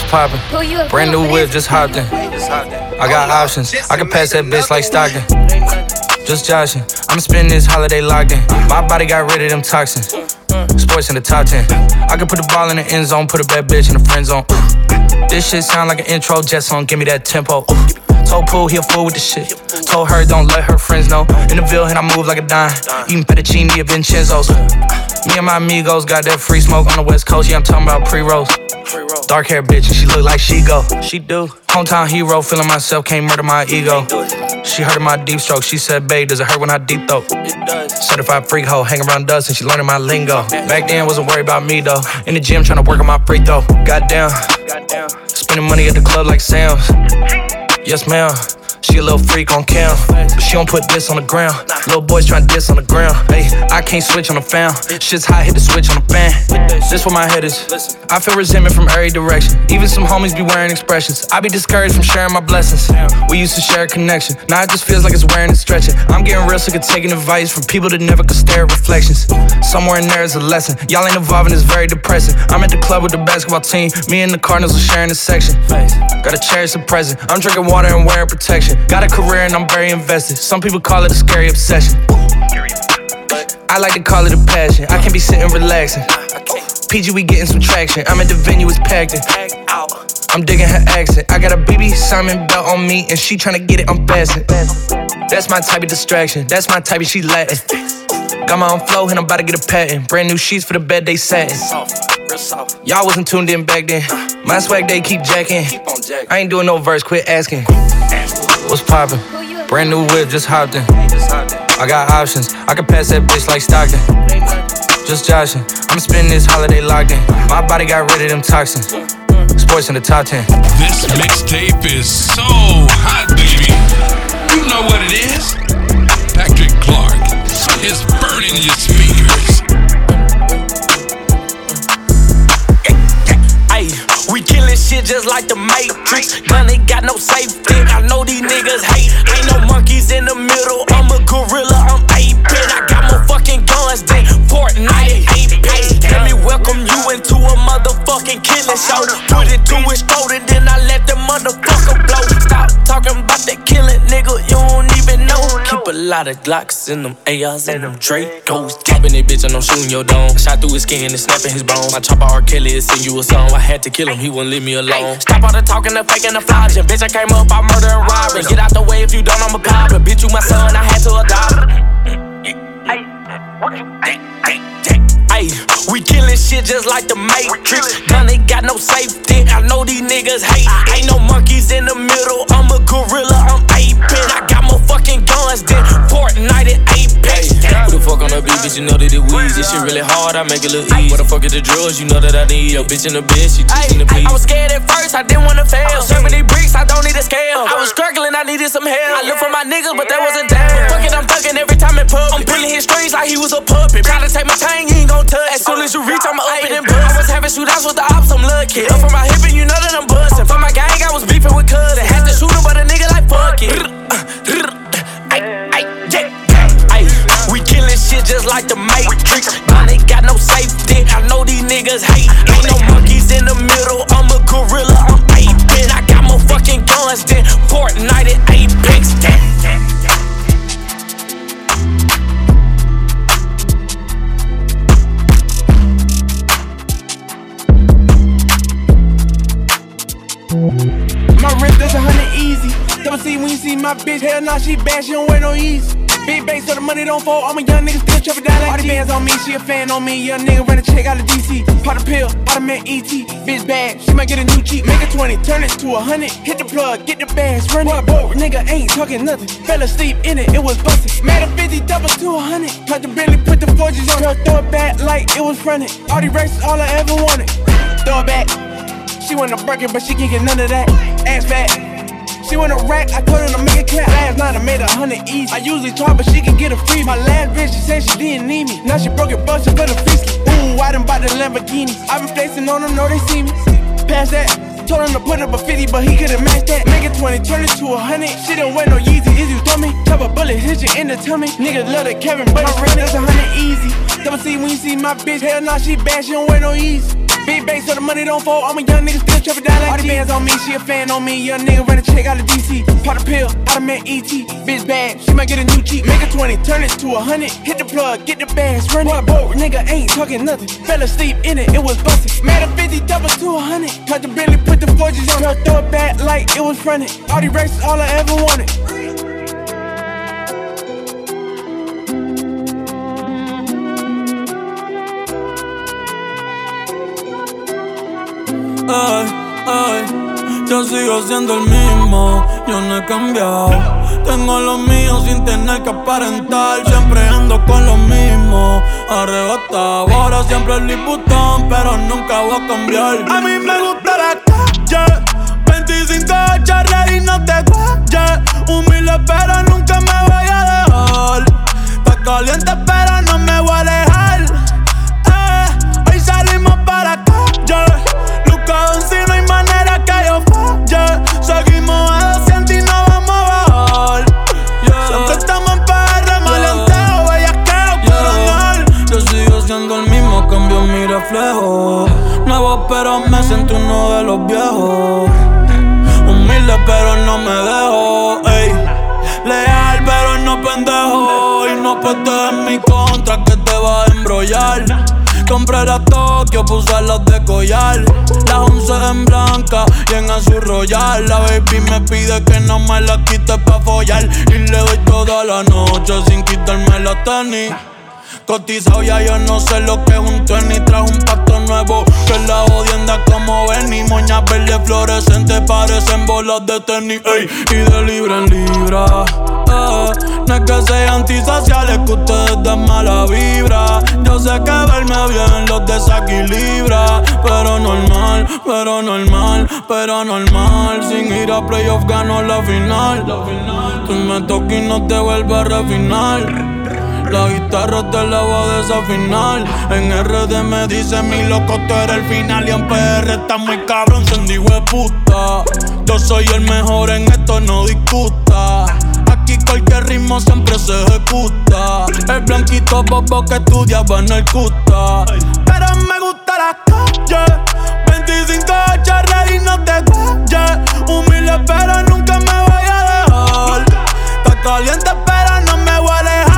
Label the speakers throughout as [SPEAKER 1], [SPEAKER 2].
[SPEAKER 1] poppin'? Brand new whip, just hopped in. I got options, I can pass that bitch like Stockton. Just joshing, I'm spending this holiday locked in. My body got rid of them toxins. Sports in the top 10. I can put the ball in the end zone, put a bad bitch in the friend zone. This shit sound like an intro jet song, give me that tempo. Told Pooh he a fool with the shit. Told her don't let her friends know. In the Ville and I move like a dime. Eating fettuccine at Vincenzo's. Me and my amigos got that free smoke on the West Coast. Yeah, I'm talking about pre-rolls. Dark hair bitch and she look like she go. She do. Hometown hero, feeling myself, can't murder my ego. She heard of my deep stroke. She said, babe, does it hurt when I deep throat? Certified freak hoe, hang around dust and she learning my lingo. Back then, wasn't worried about me though. In the gym, trying to work on my free throw. Goddamn. Spending money at the club like Sam's. Yes, ma'am. She a little freak on cam, but she don't put this on the ground. Little boys tryna diss on the ground. Hey, I can't switch on the fan. Shit's hot, hit the switch on the fan. This where my head is. I feel resentment from every direction. Even some homies be wearing expressions. I be discouraged from sharing my blessings. We used to share a connection. Now it just feels like it's wearing and stretching. I'm getting real sick of taking advice from people that never could stare at reflections. Somewhere in there is a lesson. Y'all ain't evolving, it's very depressing. I'm at the club with the basketball team. Me and the Cardinals are sharing a section. Gotta cherish the present. I'm drinking water and wearing protection. Got a career and I'm very invested. Some people call it a scary obsession. I like to call it a passion. I can't be sitting relaxing. PG, we getting some traction. I'm at the venue, it's packed in. I'm digging her accent. I got a BB Simon belt on me and she tryna get it unfastened. That's my type of distraction. That's my type of she Latin. Got my own flow and I'm about to get a patent. Brand new sheets for the bed they satin. Y'all wasn't tuned in back then. My swag they keep jacking. I ain't doing no verse, quit asking. What's poppin'? Brand new whip, just hopped in. I got options, I can pass that bitch like Stockton. Just joshing, I'm spending this holiday locked in. My body got rid of them toxins. Sports in the top 10.
[SPEAKER 2] This mixtape is so hot, baby. You know what it is. Patrick Clark is burning your speakers.
[SPEAKER 3] We killin' shit just like the Matrix. Gun ain't got no safety. I know these niggas hate. Ain't no monkeys in the middle. I'm a gorilla, I'm aping. I got more fucking guns than Fortnite and Apex. Let me welcome you into a motherfucking killing show. Put it to his throat and then I let the motherfucker blow. Stop talking about that killing, nigga. You don't even know. Keep a lot of Glocks in them ARs and them Dracos. Dropping that bitch and I'm shooting your dome. Shot through his skin and snapping his bone. My chopper R. Kelly is sing you a song. I had to kill him, he wouldn't leave me alone. Stop all the talking, the faking, the flogging. Bitch, I came up by murder and robbery. Get out the way if you don't, I'm a goblin. Bitch, you my son, I had to adopt him. Ay, we killing shit just like the Matrix. Gun ain't got no safety. I know these niggas hate. Ain't no monkeys in the middle. I'm a gorilla, I'm aping. I got more fucking guns than Fortnite and Apex. Who the fuck on the beat, bitch? You know that it wheeze. This shit really hard, I make it look easy. What the fuck is the drugs? You know that I need. Yo, bitch in the bed, she teaching the please. I was scared at first, I didn't wanna fail. Serving these bricks, I don't need a scale. I was struggling, I needed some help. I looked for my niggas, but that wasn't there. Fuck it, I'm thugging every time in public. I'm pulling his strings like he was a puppet. Try to take my chain, you ain't gon' touch. As soon as you reach, I'ma open and bust. I was having shootouts with the ops, I'm lucky. Up from my hip and you know that I'm bustin'. For my gang, I was beefing with cousin. Had to shoot him, but a nigga like fuck it. We killing shit just like the Matrix. Gun ain't got no safety. I know these niggas hate. Ain't no monkeys in the middle. I'm a gorilla, I'm aping. I got more fucking guns than Fortnite and Apex.
[SPEAKER 4] My wrist is 100 easy. Double C when you see my bitch. Hell nah, she bad, she don't wear no easy. Big bank so the money don't fall. I'm a young nigga still trapping down like all the bands on me, she a fan on me. Young nigga run a check out of DC. Pop a pill, automatic ET. Bitch bad, she might get a new Jeep. Make a 20, turn it to 100. Hit the plug, get the bags, run it. Broke nigga ain't talking nothing. Fell asleep in it, it was busted. Made a 50 double to 100. Cut the Bentley, put the forges on her. Throw it back like it was fronted. All these races, all I ever wanted. Throw it back. She want a burger, but she can't get none of that. Ass fat. She want a rack, I told her to make it clap. Last night I made 100 easy. I usually talk, but she can get a free. My last bitch, she said she didn't need me. Now she broke it, bustin' for the fisky. Ooh, I done bought the Lamborghini. I been flexing on them, know they see me. Pass that. Told him to put up a 50, but he couldn't match that. Make it 20, turn it to 100. She don't wear no Yeezy, is you dummy? Chop a bullet, hit you in the tummy. Niggas love the Kevin, but my ring is 100 easy. Double C when you see my bitch. Hell nah, she bad, she don't wear no Yeezy. Big bank so the money don't fold. I'm a young nigga still trapping down like all the bands on me, she a fan on me. Young nigga run a check out of DC. Pop a pill, I met E.T. Bitch bad, she might get a new cheek. Make a 20, turn it to 100. Hit the plug, get the bags, run it. Boat, nigga ain't talking nothing. Fell asleep in it, it was busted. Made a 50 double to 100. Cut the Bentley, put the forges on her. Throw it back like it was fronted. All these races, all I ever wanted.
[SPEAKER 5] Ay, ay, yo sigo siendo el mismo, yo no he cambiado. Tengo lo mío sin tener que aparentar. Siempre ando con lo mismo, arrebatado. Ahora siempre el Liputón, pero nunca voy a cambiar. A mí me gusta la calle, 25 charlas y no te guayes. Humilde pero nunca me voy a dejar. Está caliente pero no me voy a alejar. Hoy salimos para la calle. Si no hay manera que yo falle. Seguimos a 200 y no vamos a bajar. Siempre estamos en PR, maleanteo, bellaqueo, coronel. Yo sigo siendo el mismo, cambio mi reflejo. Nuevo pero me siento uno de los viejos. Humilde pero no me dejo, ey. Leal pero no pendejo. Y no puestes en mi contra que te vas a embrollar. Compré la Tokio, puse las de collar. Las 11 en blanca y en azul royal. La baby me pide que no me la quite pa' follar. Y le doy toda la noche sin quitarme la tenis. Cotizado ya yo no sé lo que es un tenis. Trajo un pato nuevo que la jodienda como Benny. Moñas verdes fluorescentes parecen bolas de tenis, ey. Y de libra en libra, no es que sea antisocial, es que ustedes dan mala vibra. Yo sé que verme bien los desequilibra. Pero normal, pero normal, pero normal. Sin ir a playoff gano la final. Tú me tocas y no te vuelves a refinar. La guitarra te la voy a desafinar. En RD me dice mi loco, tú eres el final. Y en PR está muy cabrón, sendigo de puta. Yo soy el mejor en esto, no discuta. Aquí cualquier ritmo siempre se ejecuta. El blanquito bobo que estudiaba en el CUTA. Pero me gusta la calle, 25 charlas y no te guayes. Humilde pero nunca me voy a dejar. Está caliente pero no me voy a alejar.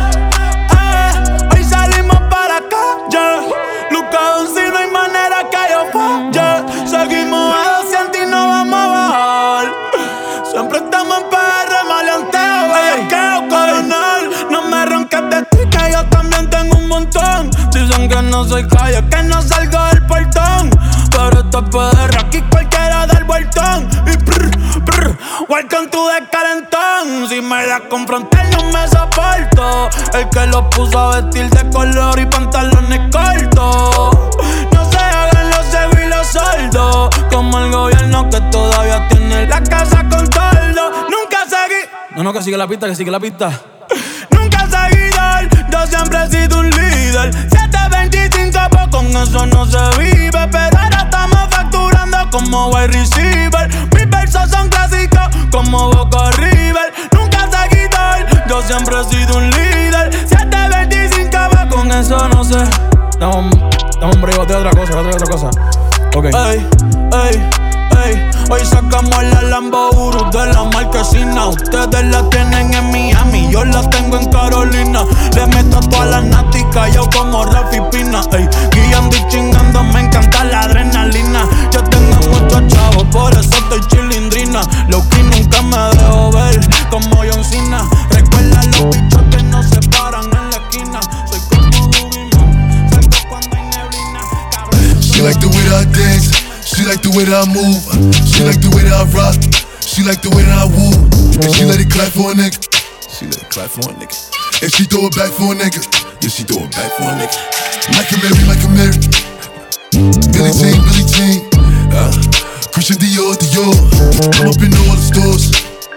[SPEAKER 5] Hoy salimos para la calle. Lucado si no hay manera que yo falle. Seguimos a 200 y no vamos a bajar. Siempre estamos en PR, maleanteo, bellaqueo, coronel. No me ronques de ti que yo también tengo un montón. Dicen que no soy calle, que no salgo del portón. Pero esto es PR, aquí cualquiera da el vueltón. Y welcome to the calentón. Si me das con frontal no me soporto. El que lo puso a vestir de color y pantalones cortos. No se hagan los ciegos y los sordos, como el gobierno que todavía tiene la casa con toldo. Nunca seguí. No, que sigue la pista, que sigue la pista. Nunca seguidor, yo siempre he sido un líder. 725, pues con eso no se vive. Pero ahora estamos facturando como wide receiver. Mis versos son clásicos como Boca River. Nunca seguidor, yo siempre he sido un líder. 725, pues con eso no sé. Dame un breve de otra cosa. Ok. Ey, ey, ey. Hoy sacamos la Lambo Urus de la marquesina. Ustedes la tienen en Miami, yo la tengo en Carolina. Le meto todas las náticas, yo como Rafi Pina. Ey, guiando y chingando, me encanta la adrenalina. Yo tengo muchos chavos, por eso estoy chilindrina. Lo que nunca me dejo ver, como John Cena. Recuerda los bichos que no se paran en la esquina. Soy como Boogeyman, salgo cuando hay neblina.
[SPEAKER 6] She like the way that I dance. She like the way that I move. She like the way that I rock. She like the way that I woo. And she let it clap for a nigga. She let it clap for a nigga. And she throw it back for a nigga. Yeah, she throw it back for a nigga. Like a Mary. Billie Jean. Christian Dior. I'm up in all the stores.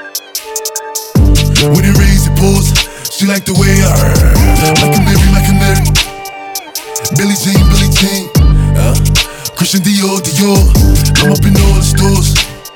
[SPEAKER 6] When it rains, it pours. She like the way I like a Mary. Billie Jean. Christian Dior. I'm up in all the stores.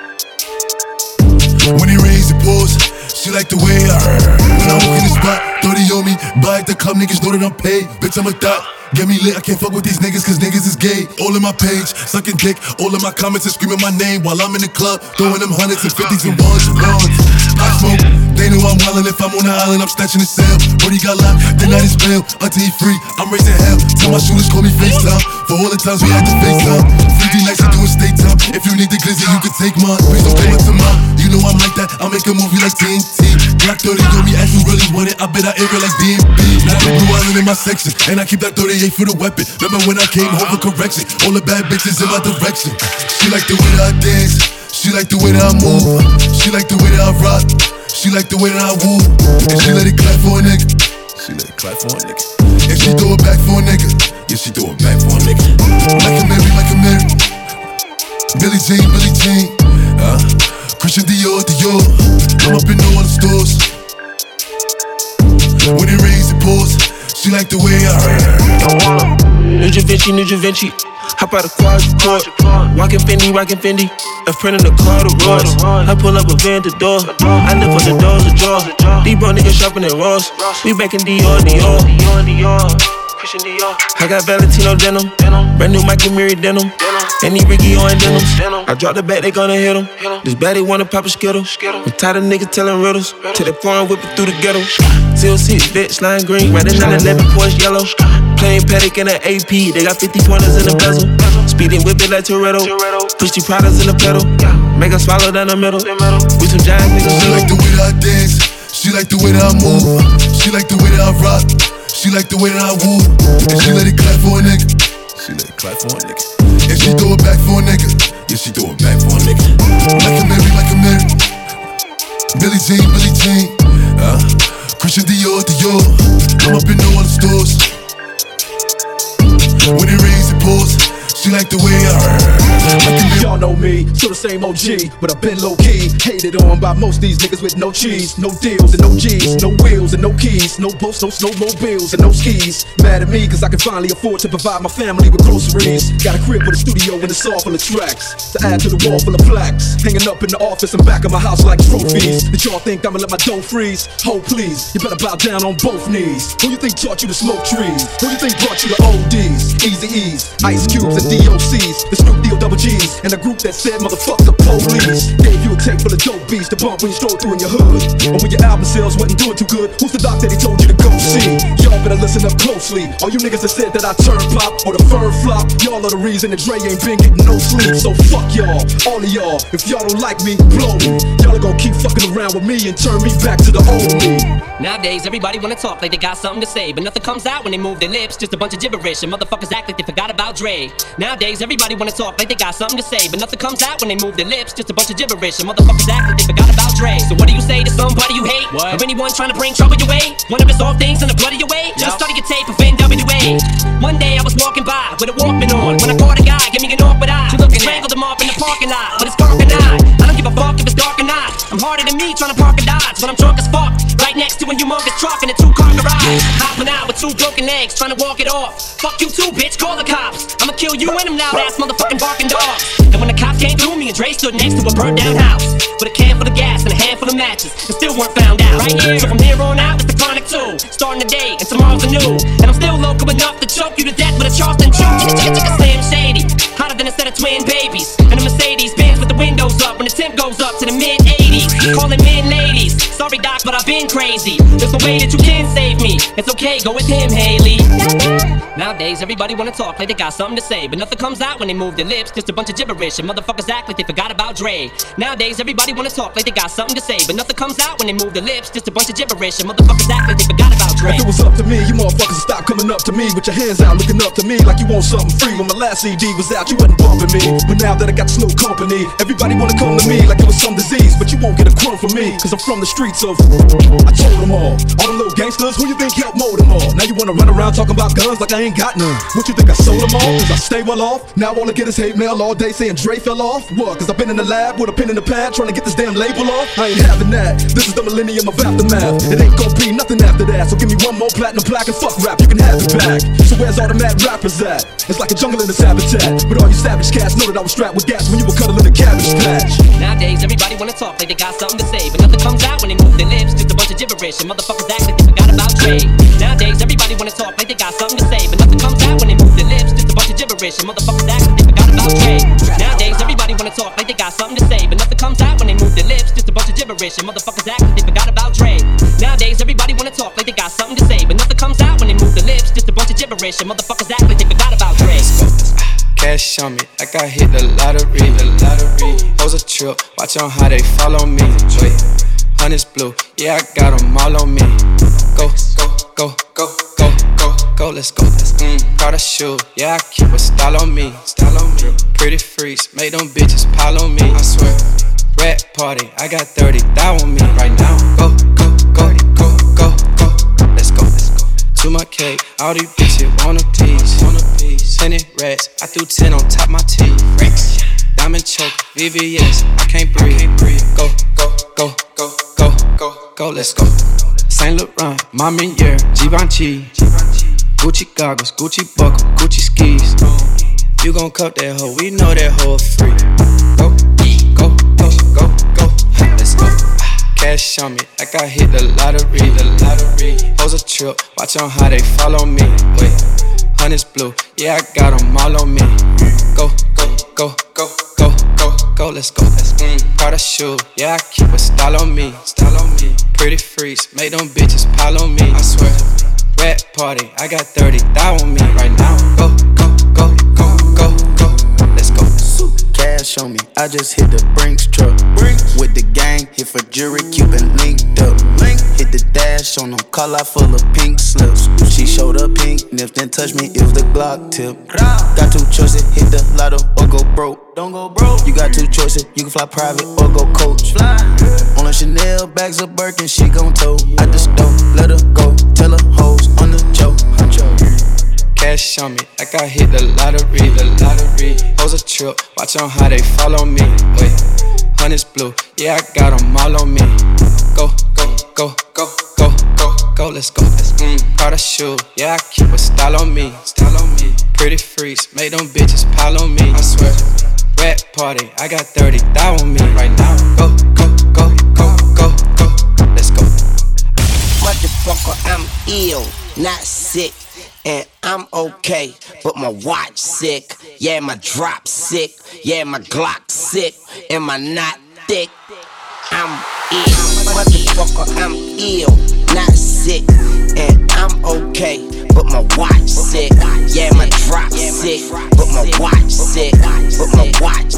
[SPEAKER 6] When it rains, it pours. She like the way I when I walk in the spot, 30 on me. Buy at the club, niggas know that I'm paid. Bitch, I'm a thot. Get me lit, I can't fuck with these niggas cause niggas is gay. All in my page, sucking dick, all in my comments and screaming my name while I'm in the club, throwing them hundreds and fifties and ones and ones. I smoke, they know I'm wildin'. If I'm on the island, I'm snatching his cell. Brody got locked, the night is bail. Until he free, I'm raising hell. Tell my shooters call me FaceTime for all the times we had to FaceTime. 3D nights, you doing state time. If you need the glizzy, you can take mine. Please don't pay it to mine. You know I'm like that, I'll make a movie like TNT. Black 30 know me as you really want it. I bet I air it like DMB. Now I'm Blue Island in my section, and I keep that 38 for the weapon. Remember when I came home for correction? All the bad bitches in my direction. She like the way that I dance. She like the way that I move. She like the way that I rock. She like the way that I woo. And she let it clap for a nigga. She let it clap for a nigga. And she throw it back for a nigga. Yeah, she throw it back for a nigga. Like a Mary, like a Mary. Billie Jean, Billie Jean. Christian Dior, Dior. I'm up in all the stores. When it rains, it pours. She like the way I
[SPEAKER 7] Ninja Vinci. Hop out of quad. Rockin' Fendi. A friend in the car to Ross. I pull up a van to door. I live on the doors ajar. These bro niggas shopping at Ross. We back in Dior. I got Valentino denim. Brand new Michael Mary denim. Any Ricky on denims. I drop the bat, they gonna hit him. This baddie wanna pop a skittle. I'm tired of niggas telling riddles. Till they foreign whip it through the ghetto. TLC, bitch, lime green. Riding 911, Porsche yellow. Plain Patek in an AP. They got 50 pointers in the bezel. Speeding whip it like Toretto. Push the products in the pedal. Make her swallow down the middle. We some giant niggas.
[SPEAKER 6] She like the way that I dance. She like the way that I move. She like the way that I rock. She like the way that I woo. And she let it clap for a nigga. She let it clap for a nigga. And she throw it back for a nigga. Yeah, she throw it back for a nigga. Like a Mary. Billie Jean. Christian Dior. I'm up in all the stores. When it rains, it pours. She like the way
[SPEAKER 8] Y'all know me, still the same OG, but I've been low-key. Hated on by most these niggas with no cheese, no deals and no G's, no wheels and no keys, no boats, no snowmobiles and no skis. Mad at me cause I can finally afford to provide my family with groceries. Got a crib with a studio and a saw full of tracks to add to the wall full of plaques, hanging up in the office and back of my house like trophies. Did y'all think I'ma let my dough freeze? Ho please, you better bow down on both knees. Who you think taught you to smoke trees? Who you think brought you to ODs, Easy E's, Ice Cubes and DOCs, the Snoop D-O-double-G's, and the group that said motherfuck the police. Gave you a tape full of dope beats to bump when you stroll through in your hood. Or when your album sales wasn't doing too good, who's the doc that he told you to go see? Y'all better listen up closely. All you niggas that said that I turn pop or the fur flop, y'all are the reason that Dre ain't been getting no sleep. So fuck y'all, all of y'all. If y'all don't like me, blow me. Y'all are gonna keep fucking around with me and turn me back to the old me.
[SPEAKER 9] Nowadays, everybody wanna talk like they got something to say, but nothing comes out when they move their lips. Just a bunch of gibberish, and motherfuckers act like they forgot about Dre. Nowadays, everybody wanna talk like they got something to say, but nothing comes out when they move their lips. Just a bunch of gibberish, and motherfuckers act like they forgot about Dre. So what do you say to somebody you hate? What? Or anyone trying to bring trouble your way? One of the soft things in the blood of your way? Just study your tape of NWA. One day I was walking by with a Walkman on, when I caught a guy, give me an awkward eye. Strangled him off in the parking lot, but it's dark and I don't give a fuck if it's dark or not. I'm harder than me trying to park a Dodge, but I'm drunk as fuck. Right next to a humongous truck in a 2-car garage. Hopping out with 2 broken legs, trying to walk it off. Fuck you too, bitch, call the cops. I'ma kill you and them loud ass motherfucking barking dogs. And when the cops came through, me and Dre stood next to a burnt down house with a can full of gas and a handful of matches, and still weren't found out. Right here, so from here on out, it's the Chronic 2. Starting the day, and tomorrow's a new. And I'm still local enough to choke you to death with a Charleston chew. Slim Shady, hotter than a set of twin babies. And a Mercedes Benz with the windows up when the temp goes up to the mid-80s. Calling men ladies. Sorry doc, but I've been crazy. There's no way that you can save me. It's okay, go with him, Haley. Nowadays, everybody wanna talk like they got something to say, but nothing comes out when they move their lips. Just a bunch of gibberish, and motherfuckers act like they forgot about Dre. Nowadays, everybody wanna talk like they got something to say, but nothing comes out when they move their lips. Just a bunch of gibberish, and motherfuckers act like they forgot about Dre.
[SPEAKER 8] If it was up to me, you motherfuckers would stop coming up to me with your hands out, looking up to me like you want something free. When my last CD was out, you wasn't bumping me, but now that I got Snoop company, everybody wanna come to me like it was some disease, but you won't get a crumb from me, cause I'm from the streets of. I told them all the little gangsters, who you think helped mold them all? Now you wanna run around talking about guns like I ain't got none. What you think I sold them all? Cause I stay well off. Now all I get is hate mail all day saying Dre fell off. What? Cause I've been in the lab with a pen in the pad trying to get this damn label off. I ain't having that. This is the millennium of aftermath. It ain't gonna be nothing after that. So give me me one more platinum plaque and fuck rap, you can have it back. So where's all the mad rappers at? It's like a jungle in a habitat. But all you savage cats know that I was strapped with gas when you were cuddling the cabbage patch.
[SPEAKER 9] Nowadays, everybody wanna talk like they got something to say, but nothing comes out when they move their lips. Just a bunch of gibberish, and motherfuckers act like they forgot about Dre. Nowadays, everybody wanna talk like they got something to say, but nothing comes out when they move their lips. Just a bunch of gibberish, and motherfuckers act like they forgot about Dre. Nowadays, everybody wanna talk like they got something to say, but nothing comes out when they move their lips. Just a bunch of gibberish, and motherfuckers act like they forgot about Dre. Nowadays, everybody wanna talk like they got something to say, but nothing comes out when they move their lips. Just a bunch of gibberish, and motherfuckers act like they forgot about Dre.
[SPEAKER 10] Cash on me, like I hit the lottery. Hoes a trip, watch on how they follow me. Wait, honey's blue, yeah, I got them all on me. Go, go, go, go, go, go, go, let's go. Prada shoe, yeah, I keep a style on me. Pretty freaks, make them bitches pile on me. I swear, rat party, I got 30,000 on me right now. Go, go, go, go, go, go, let's go. To my cake, all these bitches want a piece. 100 rats, I threw 10 on top my teeth. Diamond choke, VVS, I can't breathe. Go, go, go, go, go, go, go, let's go. Saint Laurent, Mama Year, Givenchy, Gucci goggles, Gucci buckle, Gucci skis. You gon' cut that hoe, we know that hoe free. Go, go, go, go, go, let's go. Cash on me, like I hit the lottery. Hoes a trip, watch on how they follow me. Wait, honey's blue, yeah, I got them all on me. Go, go, go, go, go, go, go, let's go. Prada shoe, yeah, I keep a style on me. Pretty freaks, make them bitches pile on me. I swear, rat party, I got 30,000 on me right now. Go, go, go, go, go, go, let's go.
[SPEAKER 11] Cash on me, I just hit the Brinks truck. With the gang, hit for jury, Cuban linked up. Hit the dash on them, call out full of pink slips. She showed up pink, nipped and touched me, it was the Glock tip. Got two choices, hit the lotto or go broke. Don't go broke. You got two choices, you can fly private or go coach. On a Chanel, bags of Birkin, she gon' tow. I just don't let her go, tell her hoes on the choke.
[SPEAKER 10] Cash on me, like I hit the lottery. Hoes a trip, watch on how they follow me. Wait, honey's blue, yeah, I got them all on me. Go, go, go, go, go, go, go, let's go. Prada shoe, yeah, I keep a style on me. Pretty freaks, make them bitches pile on me. I swear, rat party, I got 30,000 on me right now. Go, go, go, go, go, go, let's go.
[SPEAKER 12] Motherfucker, I'm ill, not sick. And I'm okay, but my watch sick. Yeah, my drop sick. Yeah, my Glock sick. And my knot thick. I'm ill, motherfucker, I'm ill, not sick. And I'm okay, but my watch sick. Yeah, my drop sick, but my watch sick. But my watch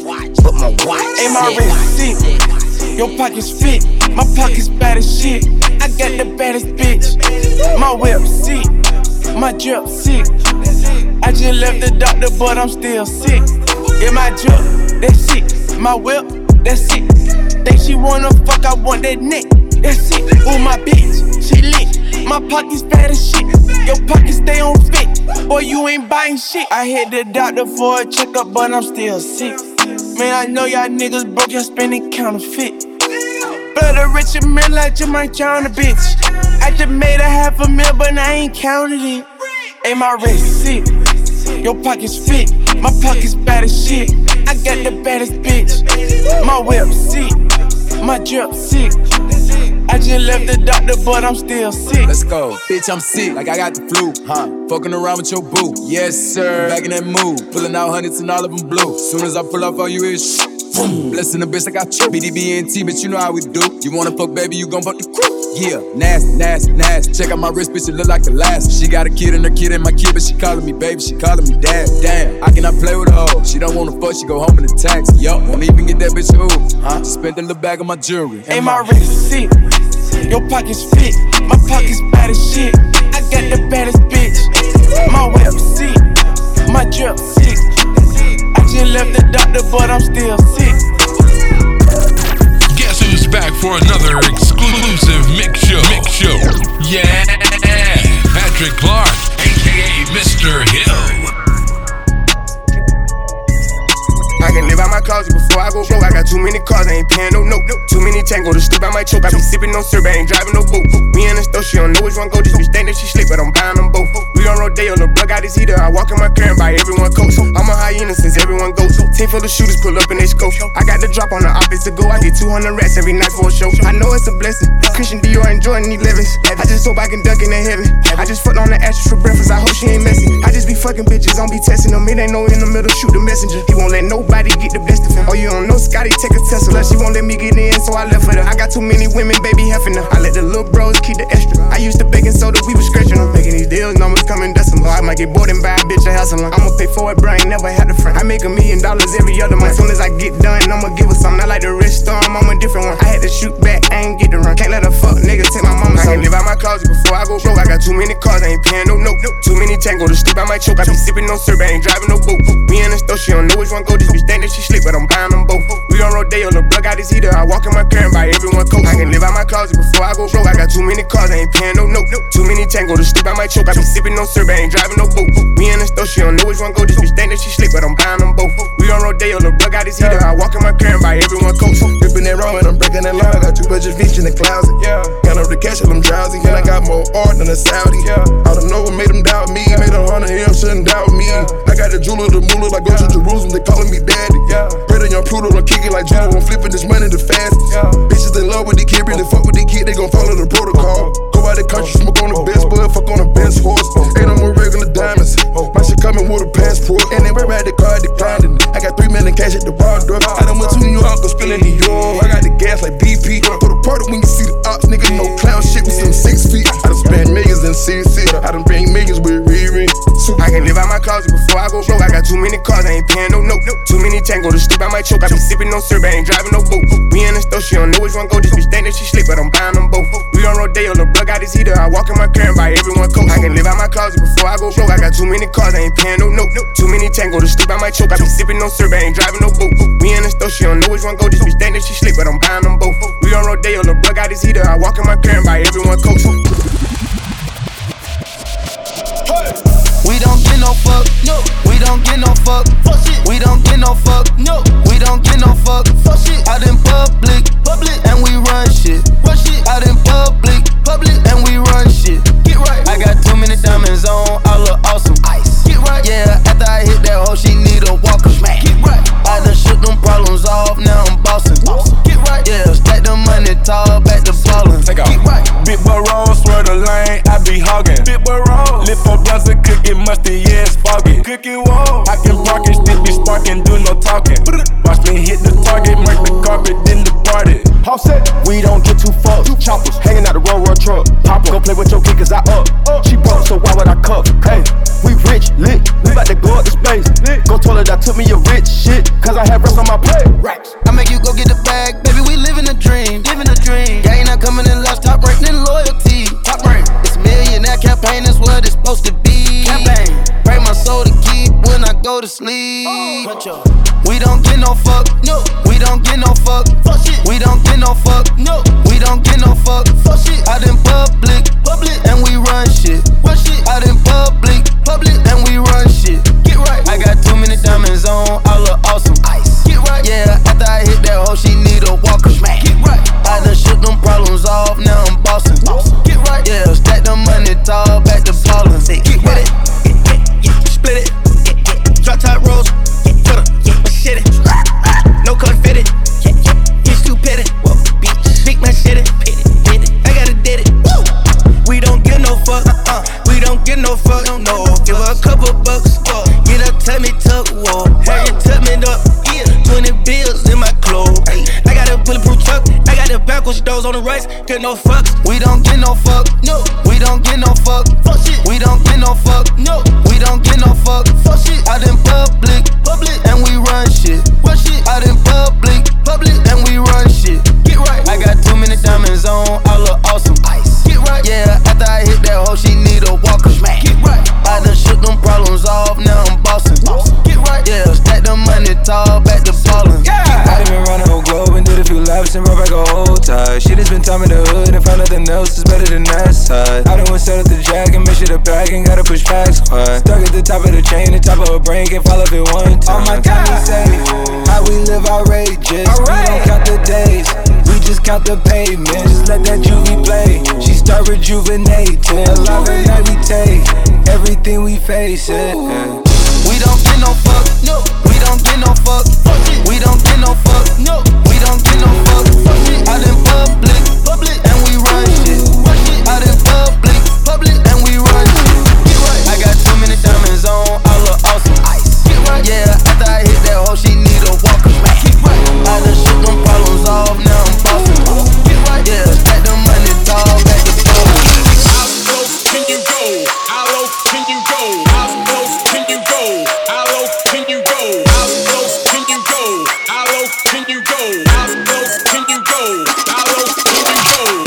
[SPEAKER 12] sick.
[SPEAKER 4] Ain't my wrist sick, your pockets fit. My pockets bad as shit. I got the baddest bitch. My whip sick. My drip sick. I just left the doctor, but I'm still sick. Yeah, my drip, that's sick. My whip, that's sick. Think she wanna fuck, I want that neck. That's sick. Ooh, my bitch, she lit. My pockets fat as shit. Your pockets stay on fit. Boy, you ain't buying shit. I hit the doctor for a checkup, but I'm still sick. Man, I know y'all niggas broke, y'all spending counterfeit. Blood of Richard Mille, I just might drown a bitch. I just made $500,000, but I ain't counted it. Ain't my wrist sick, your pockets fit. My pockets bad as shit. I got the baddest bitch. My whip sick, my drip sick. I just left the doctor, but I'm still sick.
[SPEAKER 13] Let's go, bitch, I'm sick, like I got the flu, Fucking around with your boo, yes sir. Back in that mood, pulling out hundreds and all of them blue. Soon as I pull off all you is blessing the bitch, I got you. BDBNT, bitch, you know how we do. You wanna fuck, baby, you gon' fuck the crew. Yeah, nasty. Check out my wrist, bitch, it look like the last. She got a kid and her kid ain't my kid, but she calling me baby, she calling me dad. Damn, I cannot play with her. Oh, she don't wanna fuck, she go home in the taxi. Yo, won't even get that bitch a ooh. Spent a little bag on my jewelry.
[SPEAKER 4] Ain't my wrist sick, your pockets fit. My pockets bad as shit. I got the baddest bitch. My whip sick, my drip sick. I just left the doctor, but I'm still sick.
[SPEAKER 2] Guess who's back for another exclusive mix show? Yeah, Patrick Clark, aka Mr. Hill.
[SPEAKER 14] I can live out my closet before I go broke. I got too many cars, I ain't paying no note. Too many tango to sleep, I might choke. I be sipping no syrup, I ain't driving no boat. Me and the store, she don't know which one go. This bitch think that she slick, but I'm buying them both. We on Rodeo, the plug got his heater. I walk in my car and buy everyone coats. I'm a hyena since everyone goes. Team full of shooters pull up in they scope. I got the drop on the opposite go. I get 200 rats every night for a show. I know it's a blessing. Christian Dior and Jordan need Levis. I just hope I can duck in the heaven. I just fucked on the actress for breakfast. I hope she ain't messy. I just be fucking bitches, don't be testing them. It ain't no in the middle, shoot the messenger. He won't let nobody get the best of him. Oh, you don't know Scotty, take a Tesla. She won't let me get in, so I left with her. I got too many women, baby, heffing her. I let the little bros keep the extra. I used to baking soda, we was scratching them. Making these deals, numbers coming decimal. I might get bored and buy a bitch a house alone. I'ma pay for it, bro, I ain't never had a friend. I make $1 million every other month. As soon as I get done, I'ma give her something. I like the rich storm, I'm a different one. I had to shoot back, I ain't get to run. Can't let a fuck nigga take my mama. I can't live out my closet before I go broke. I got too many cars, I ain't paying no note. Too many tango to sleep, I might choke. I be sipping no syrup, I ain't driving no boat. Me and the store, she don't know which one go. This bitch think that she slick, but I'm buying them both. We on Rodeo, the plug got his heater. I walk in my car and buy everyone coats. I can live out my closet before I go broke. I got too many cars, I ain't paying no note. Too many tango to sleep, I might choke. I be sipping no syrup, I ain't driving no boat. Me and the store, she don't know which one go. This bitch think that she slick, but I'm buying them both. We on Rodeo, the plug got his heater. I walk in my car and buy everyone coats.
[SPEAKER 7] Dipping that wrong and I'm breaking that line. I got too much fish in the closet. Count up the cash till I'm drowsy. And I got more art than a Saudi. I don't know what made them doubt me. Made 100 M, shouldn't doubt me. I got the jeweler, the moolah, like go to Jerusalem, they calling me daddy. Pray to young Pluto, I'm kicking like Judo, I'm flipping this money the fastest. Bitches in love with the kid, really fuck with the kid, they gon' follow the protocol. Go out the country, smoke on the best bud, fuck on the best horse. Ain't no more regular diamonds. My shit coming with a passport. And they at the car declined it. I got $3 million cash at the bar door. I done went to New York, go spilling New York. I got the gas like BP. For the party when you see the ops, nigga, no clown shit, we some 6 feet. I done spent millions in CC. I done bring millions with Riri.
[SPEAKER 14] I can live out my closet before I go broke. I got too many cars, I ain't paying no note. Too many tango to sleep, I might choke. I be sipping no syrup, I ain't driving no boat. Me and the store, she don't know which one go. This bitch think that she slick, but I'm buying them both. We on Rodeo, the plug got his heater. I walk in my car and buy everyone coats. I can live out my closet before I go broke. I got too many cars, I ain't paying no note. Too many tango to sleep, I might choke. I be sipping no syrup, I ain't driving no boat. Me and the store, she don't know which one go. This bitch think that she slick, but I'm buying them both. We on Rodeo, the plug got his heater. I walk in my car and buy everyone coats.
[SPEAKER 11] We don't get no fuck, no. We don't get no fuck, fuck shit. We don't get no fuck, no. We don't get no fuck, fuck shit. Out in public, and we run shit. Run shit. Out in public, and we run shit. Get right. I got too many diamonds on, I look awesome. Ice. Get right. Yeah, after I hit that hoe, she need a walker. Smack. Get right. I done shook them problems off, now I'm bossing. Get right. Yeah, stack the money tall, back to ballin'. Take off. Get right.
[SPEAKER 15] Big boy roll, swear the lane, I be hogging. Big boy roll, lip on blunts and cookie mustard, yeah, it's foggy. Cookie wall, I can park it, still be sparking, do no talking. Watch me hit the target, mark the carpet, then the party.
[SPEAKER 16] All set, we don't get too fucked. Choppers hanging out the road truck. Pop go play with your kid, cause I up. She broke, so why would I cuff? Hey, we rich, lit, we bout to go up the space. Go toilet, I took me a rich shit, cause I have rest on my plate. Racks.
[SPEAKER 11] I make you go get the bag, baby, we living a dream. Living a dream. Gang not coming in last, top rank, then loyalty. Top rank. It's a millionaire campaign, that's what it's supposed to be. Campaign. Pray my soul to keep when I go to sleep. We don't get no fuck, no. We don't get no fuck, fuck shit. We don't get no fuck, no. We don't get no fuck, fuck shit. Out in public, and we run shit. Run shit. Out in public, and we run shit. Get right. I got too many diamonds on, I look awesome. Ice. Get right. Yeah, after I hit that hoe, she need a walker. Smack. Get right. I done shook them problems off, now I'm bossing. Get right. Yeah, stack the money tall, back to ballin'. Get with it. Split it. Drop top rolls. Shit it. No cut fitted. He's too petty. Big man shit it. I gotta did it. We don't get no fuck. We don't get no fuck. No. Give her a couple bucks. Get her tummy tuck. Whoa. Have you tuck me up? 20 bills in my clothes. I got a bulletproof truck. I got the backwards doors on the right. Get no fucks. We don't get no fuck. No. We don't get no fuck. Fuck shit. We don't get no fuck. No. We don't get no fuck. Fuck shit. Out in public, and we run shit. Run shit. Out in public, and we run shit. Get right. I got too many diamonds on, I look awesome. Ice. Get right. Yeah, after I hit that hoe, she need a walker. Smack. Get right. I done shook them problems off, now I'm bossing. Get right. Yeah, stack the money tall, back to ballin'. Yeah.
[SPEAKER 17] I done been running the whole globe and did a few laps and brought back a whole tie. Shit has been time
[SPEAKER 10] in the hood and find nothing else is better than that side. I done went set up the jack and make sure the bag ain't gotta push back squad. Stuck at the top of the chain, the top of a brain, can't fall off it one time. Oh my God, say how we live outrageous. We don't count the days, we just count the pavement. Just let that juvie play. She start rejuvenating. Love and night we take everything we face it.
[SPEAKER 11] We don't get no fuck, no. We don't get no fuck, we don't get no fuck, no. We don't get no fuck, out in public, and we run shit. Out in public, and we run shit. I got too many diamonds on, I look awesome. Yeah, after I hit that hoe, she need a walker. I done shook them problems off, now I'm bossing. Yeah, stack the money tall, back the floor.
[SPEAKER 17] How close can you go? How low can you go? How close can you go? How low can you go? How close can you go? How low can you go? How close can you go? How low can you go?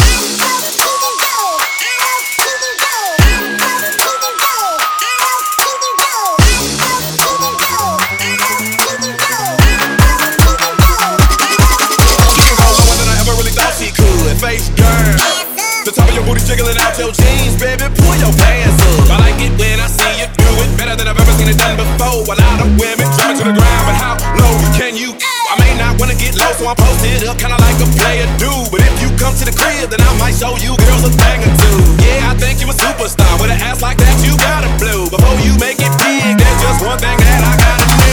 [SPEAKER 18] Face girl, the top of your booty jiggling out your jeans, baby, pull your pants up. I like it when I see you do it better than I've ever seen it done before. A lot of women drop it to the ground, but how low can you? I may not wanna get low, so I'm posted up, kinda like a player do. But if you come to the crib, then I might show you girls a thing or two. Yeah, I think you a superstar with an ass like that, you gotta blow. Before you make it big, there's just one thing that I gotta do.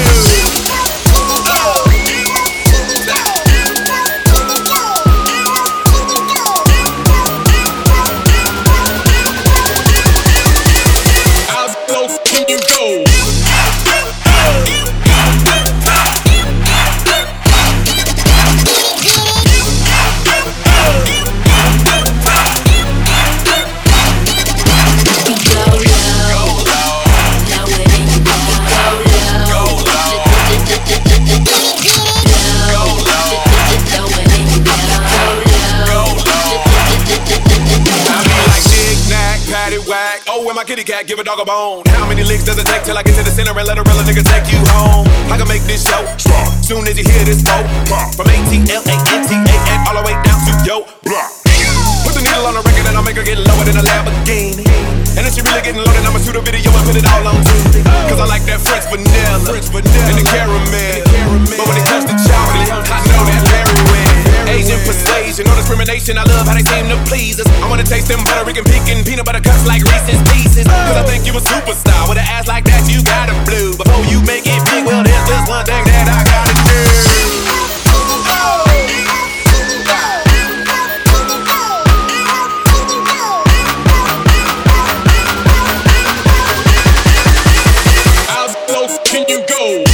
[SPEAKER 18] Kitty cat, give a dog a bone. How many licks does it take till I get to the center and let a real nigga take you home? I can make this show strong soon as you hear this flow. From ATLANTA all the way down to yo block. Put the needle on the record and I'll make her get lower than a Lamborghini. And if she really getting loaded, I'ma shoot a video and put it all on TV. Cause I like that French vanilla and the caramel. But when it comes to chocolate, I know that very well. Asian persuasion, no discrimination. I love how they seem to please us. I wanna taste them Puerto Rican pecan peanut butter cups like Reese's Pieces. Cause I think you a superstar with an ass like that, you gotta blue. Before you make it big, well, there's just one thing that I gotta do. How close can you go?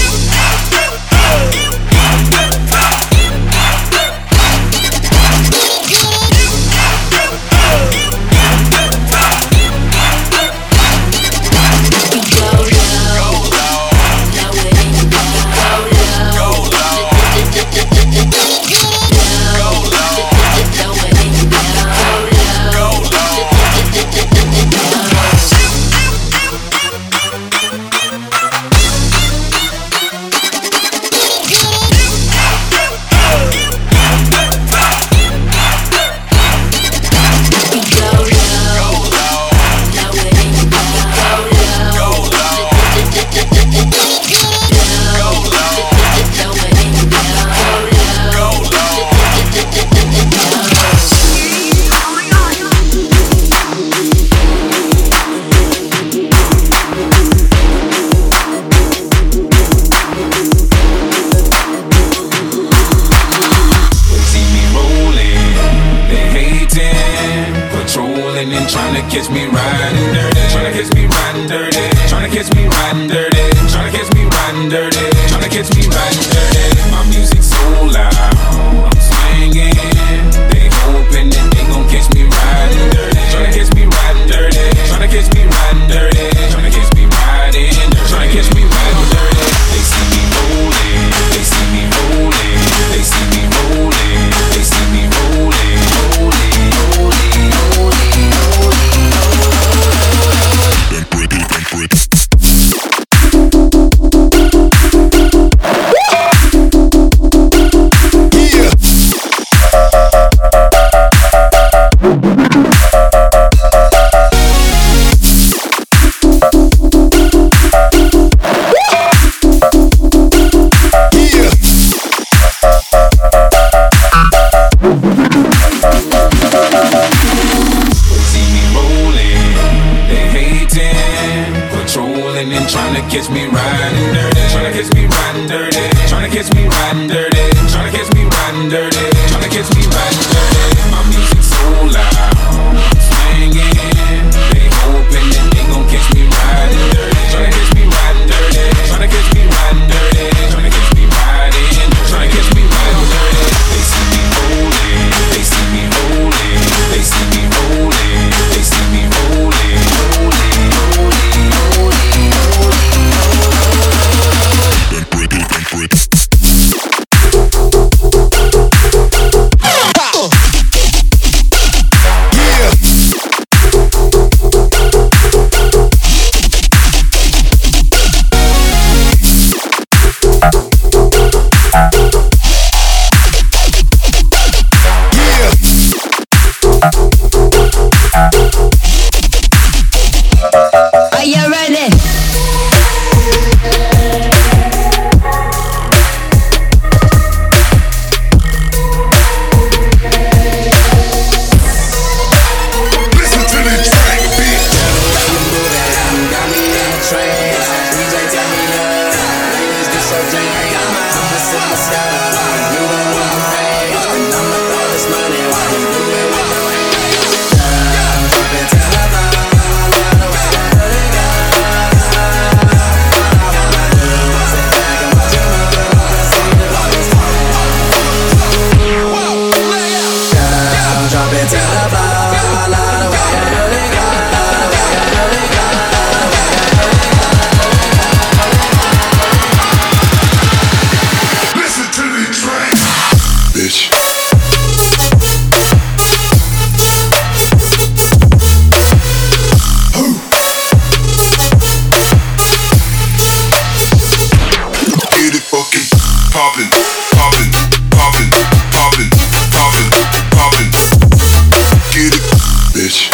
[SPEAKER 19] catch me riding dirty. Tryna catch me riding dirty. Tryna catch me riding dirty. Tryna catch me riding dirty. Tryna catch me riding dirty. My music's so loud, I'm swinging. They hoping that they gon' catch me riding dirty. Tryna catch me riding dirty. Tryna catch me riding dirty. Tryna catch me riding dirty. Tryna catch me riding dirty. They see me rolling. They see me rolling. They see me rolling. They see me rolling. Rolling, rolling, rolling, rolling. catch me riding dirty. Tryna catch me riding dirty. Tryna catch me riding dirty. Tryna catch me riding dirty. Tryna catch me riding dirty. My music so loud, swinging. They hoping that they gon' catch me riding dirty. Tryna catch me riding dirty. Tryna catch me riding dirty. Tryna catch me riding. Tryna catch me riding dirty. They see me rolling. They see me rolling. They see me rolling. They see me rolling. Rolling, rolling, rolling, rolling.
[SPEAKER 6] Break it, break it.
[SPEAKER 20] Are you ready?
[SPEAKER 6] Listen to the track, bitch. Listen to the track, bitch. Get it fucking poppin', poppin', poppin', poppin', poppin', poppin'. Get it, bitch.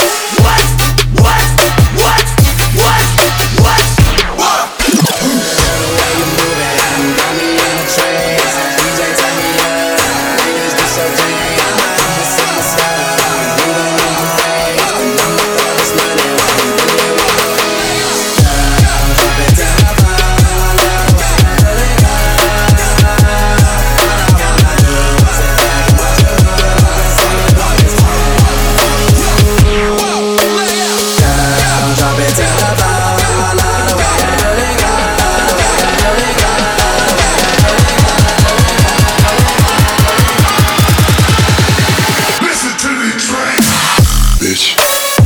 [SPEAKER 6] Listen to the track, bitch.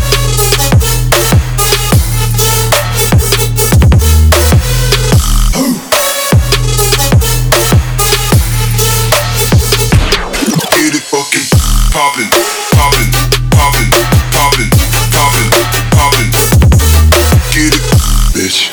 [SPEAKER 6] Get it fucking poppin', poppin', poppin', poppin', poppin', poppin'. Get it, bitch.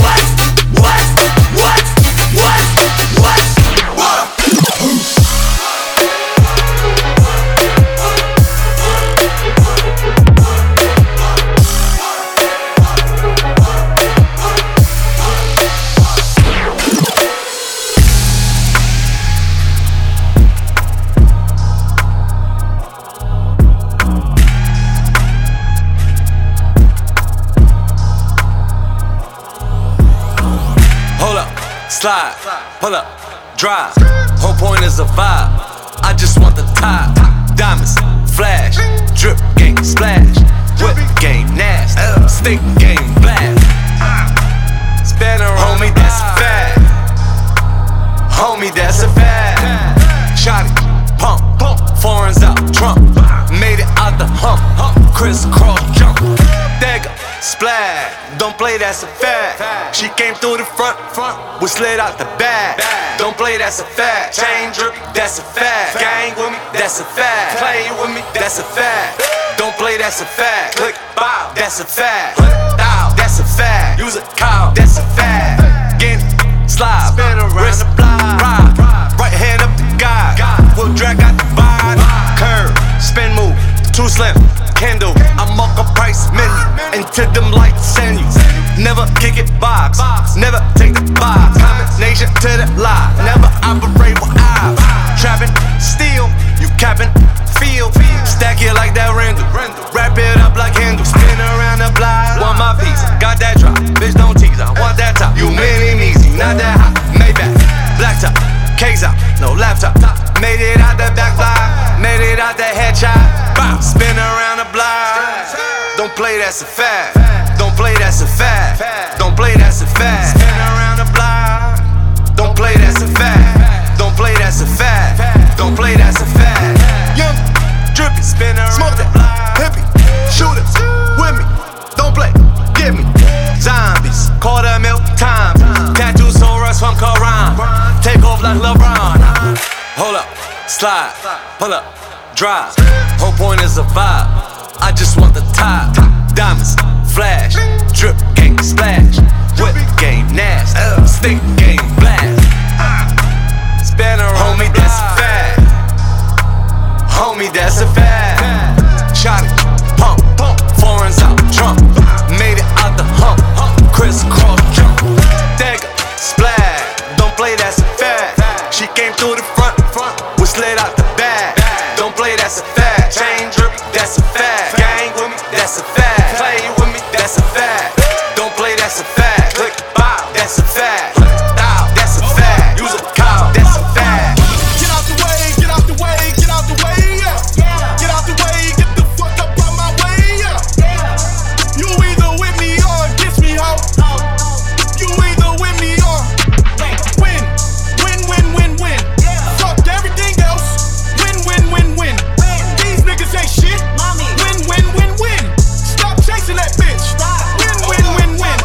[SPEAKER 3] Hold up, slide, pull up, drive. Whole point is a vibe. I just want the top. Diamonds, flash, drip game, splash. Whip game, nasty. Stick game, blast. Spin around, homie, that's a fact. Homie, that's a fact. Shotty, pump, foreigns out, Trump. Made it out the hump, crisscross jump. Dagger, splash. Don't play, that's a fact. She came through the front, we slid out the back. Don't play, that's a fact. Chain drip, that's a fact. Gang with me, that's a fact. Play with me, that's a fact. Don't play, that's a fact. Click, bow, that's a fact. Down, that's a fact. Use a cow, that's a fact. Get it, slide, spin around the block. Ride, right hand up the guy. We'll drag out the vibe. Curve, spin move, too slim. Kindle, I'm up a price menu. Into them lights send you. Never kick it box, never take the box. Combination to the lie, never operate with eyes. Trapping, steal, you capping, feel. Stack it like that Randall. Wrap it up like handle. Spin around the block. Want my piece, got that drop. Bitch, don't tease, I want that top. You
[SPEAKER 21] play, that's a fact. Don't play, that's a fact. Don't play, that's a fact. Spin around the block. Don't play, that's a fact. Don't play, that's a fact. Don't play, that's a fact. Young, drippy, spin around, smoke that, hippie, shooters with me. Don't play, get me. Zombies, quarter mil times. Tattoos on rush from Quran. Take off like LeBron. Hold up, slide, pull up, drive. Whole point is a vibe. I just want the top. Diamonds, flash, drip game splash. Whip game nasty, stick game blast. Spanner, homie, that's a fact. Homie, that's a fact. Shot it, pump, foreigns out, Trump. Made it out the hump, crisscross jump. Dagger, splash, don't play, that's a fact. She came through the front, we slid out the back. Don't play, that's a fact. Chain drip, that's a fact. Gang with me, that's a fact. Play with me, that's a fact. Don't play, that's a fact. Click, bow, that's a fact. Bow, that's a fact. Use a cow, that's a fact.
[SPEAKER 17] Get out the way, get out the way, get out the way, yeah. Get out the way, get the fuck up out my way, yeah. You either with me or against me, ho. You either with me or win. Win, win, win, win. Fuck everything else. Win, win, win, win. These niggas ain't shit. Win, win, win, win. Stop chasing that bitch. Win, win, win, win.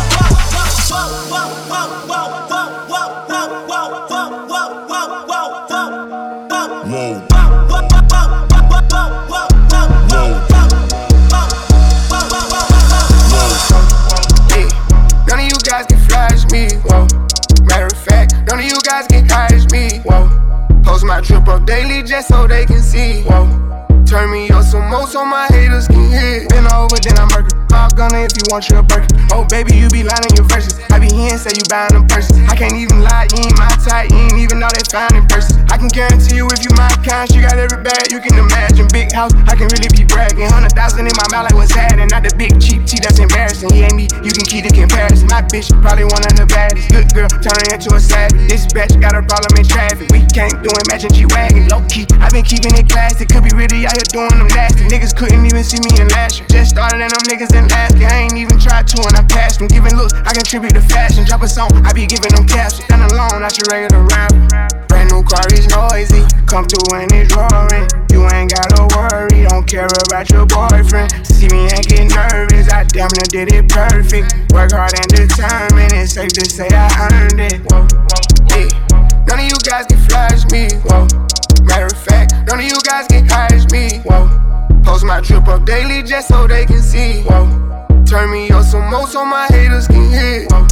[SPEAKER 14] Hey, none of you guys can flash me, whoa. Matter of fact, none of you guys can catch me, whoa. Post my drip up daily just so they can see, whoa. Turn me up some more so my haters can hear. Been over, then I'm murder. All gunner if you want your Birkin. Oh baby, you be lying your verses. I be here and say you buying them purses. I can't even lie, you ain't my type. You ain't even know they fine in person. I can guarantee you if you my kind, she got every bag you can imagine. Big house, I can really be bragging. 100,000 in my mouth like what's happening. Not the big cheap tea that's embarrassing. He ain't me, you can keep the comparison. My bitch probably one of the baddest. Good girl, turning into a savage. This bitch got a problem in traffic. We can't do it, matching G-Wagon. Low key, I been keeping it classy. Could be really out here doing them nasty. Niggas couldn't even see me in last year. Just started and them niggas in last year. I ain't even tried to and I passed them. Giving looks, I contribute to fashion. Drop a song, I be giving them captions. Stand alone, not your regular rapper. Brand new car is noisy. Come through and it's roaring. You ain't gotta worry, don't care about your boyfriend. See me and get nervous, I damn near did it perfect. Work hard and determined, it's safe to say I earned it. Whoa, yeah. None of you guys can flash me, whoa. Matter of fact, none of you guys can catch me, whoa. Post my drip up daily just so they can see, whoa. Turn me up some more so my haters can hear, whoa.